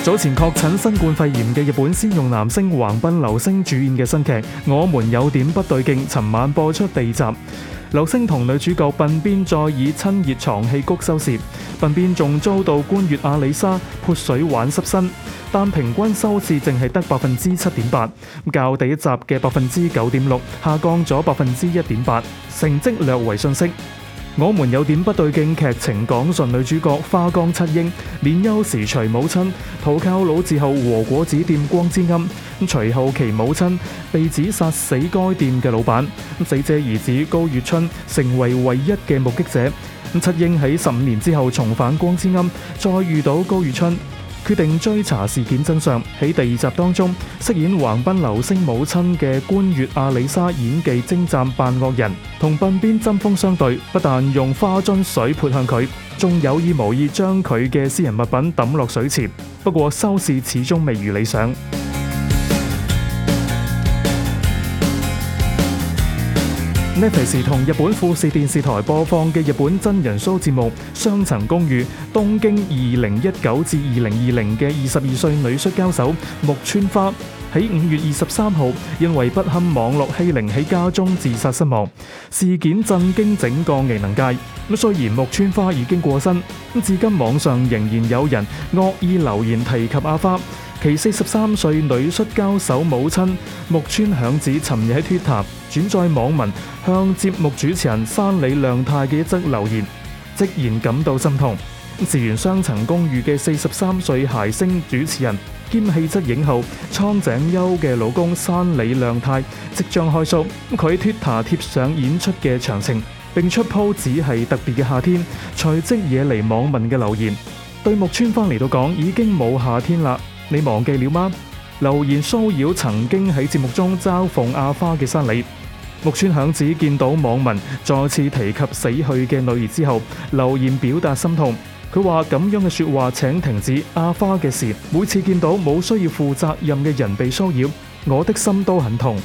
早前確診新冠肺炎嘅日本先用男星橫濱流星主演嘅新劇《我們有點不對勁》，尋晚播出第二集。流星同女主角鬢邊再以親熱床戲谷收視，鬢邊仲遭到官月阿里莎潑水玩濕身，但平均收視淨係得7.8%，較第一集嘅9.6%下降咗1.8%，成績略為遜色。我們有點不對勁劇情講述女主角花江七英年幼時隨母親投靠老字號和果子店光之庵，隨後其母親被指殺死該店嘅老闆，死者兒子高月春成為唯一嘅目擊者。七英喺15年之後重返光之庵，再遇到高月春，決定追查事件真相。喺第二集當中，飾演橫濱流星母親嘅官月阿里莎演技精湛，扮惡人，同鬢邊針鋒相對，不但用花樽水潑向佢，仲有意無意將佢嘅私人物品抌落水池。不過收視始終未如理想。Netflix 同日本富士電視台播放嘅日本真人 show 節目《雙層公寓》東京2019至2020嘅22歲女摔跤手木村花喺5月23號因為不堪網絡欺凌喺家中自殺身亡，事件震驚整個藝能界。雖然木村花已經過身，至今網上仍然有人惡意留言提及阿花。其43歲女摔跤手母親木村響子尋日喺 Twitter 轉載網民向節目主持人山里亮太嘅一則留言，直言感到心痛。自完雙層公寓嘅43歲諧星主持人兼氣質影后蒼井優嘅老公山里亮太即將開 show， 佢喺 Twitter 貼上演出嘅詳情，並出 po 只係特別嘅夏天，隨即惹嚟網民嘅留言。對木村花嚟到講已經冇夏天啦，你忘記了嗎？留言騷擾曾經喺節目中嘲諷阿花嘅山里。木村響子見到網民再次提及死去嘅女兒之後，留言表達心痛。佢話咁樣嘅說話請停止阿花嘅事，每次見到冇需要負責任嘅人被騷擾，我的心都很痛。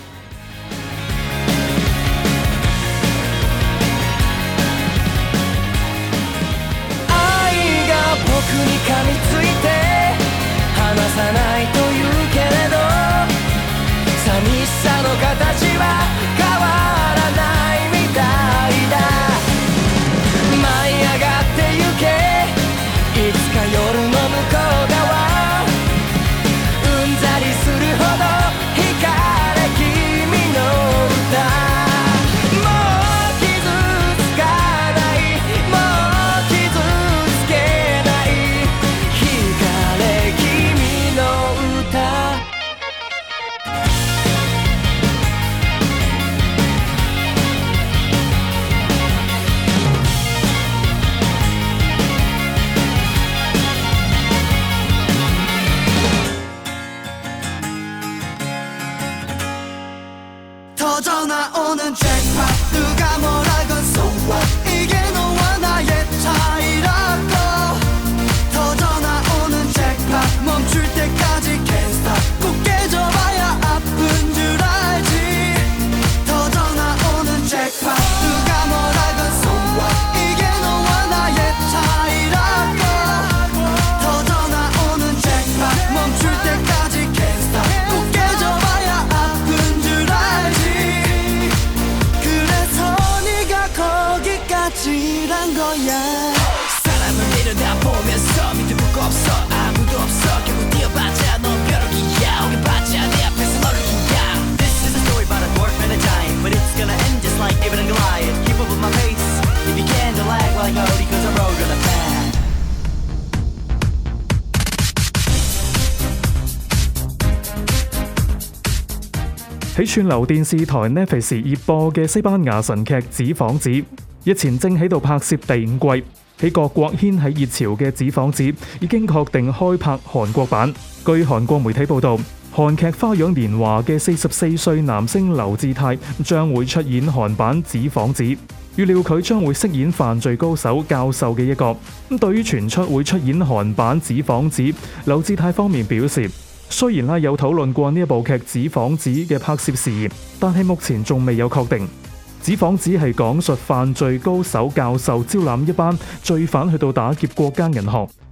喺串流電視台 Netflix 熱播嘅西班牙神劇《紙房子》，日前正喺度拍攝第5季。喺各國掀起熱潮嘅《紙房子》已經確定開拍韓國版。據韓國媒體報道，韓劇《花樣年華》嘅44歲男星劉智泰將會出演韓版《紙房子》，預料佢將會飾演犯罪高手教授嘅一角。對於傳出會出演韓版《紙房子》，劉智泰方面表示，雖然有討論過呢一部劇《紙房子》嘅拍攝事宜，但係目前仲未有確定。《紙房子》係講述犯罪高手教授招攬一班罪犯去到打劫國家銀行，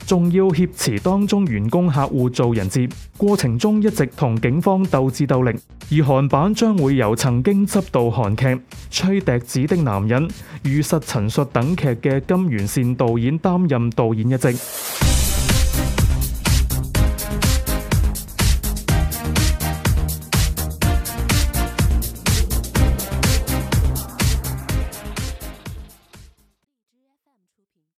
仲要挾持當中員工客戶做人質，過程中一直同警方鬥智鬥力。而韓版將會由曾經執導韓劇《吹笛子的男人》、《如實陳述》等劇嘅金元善導演擔任導演一職。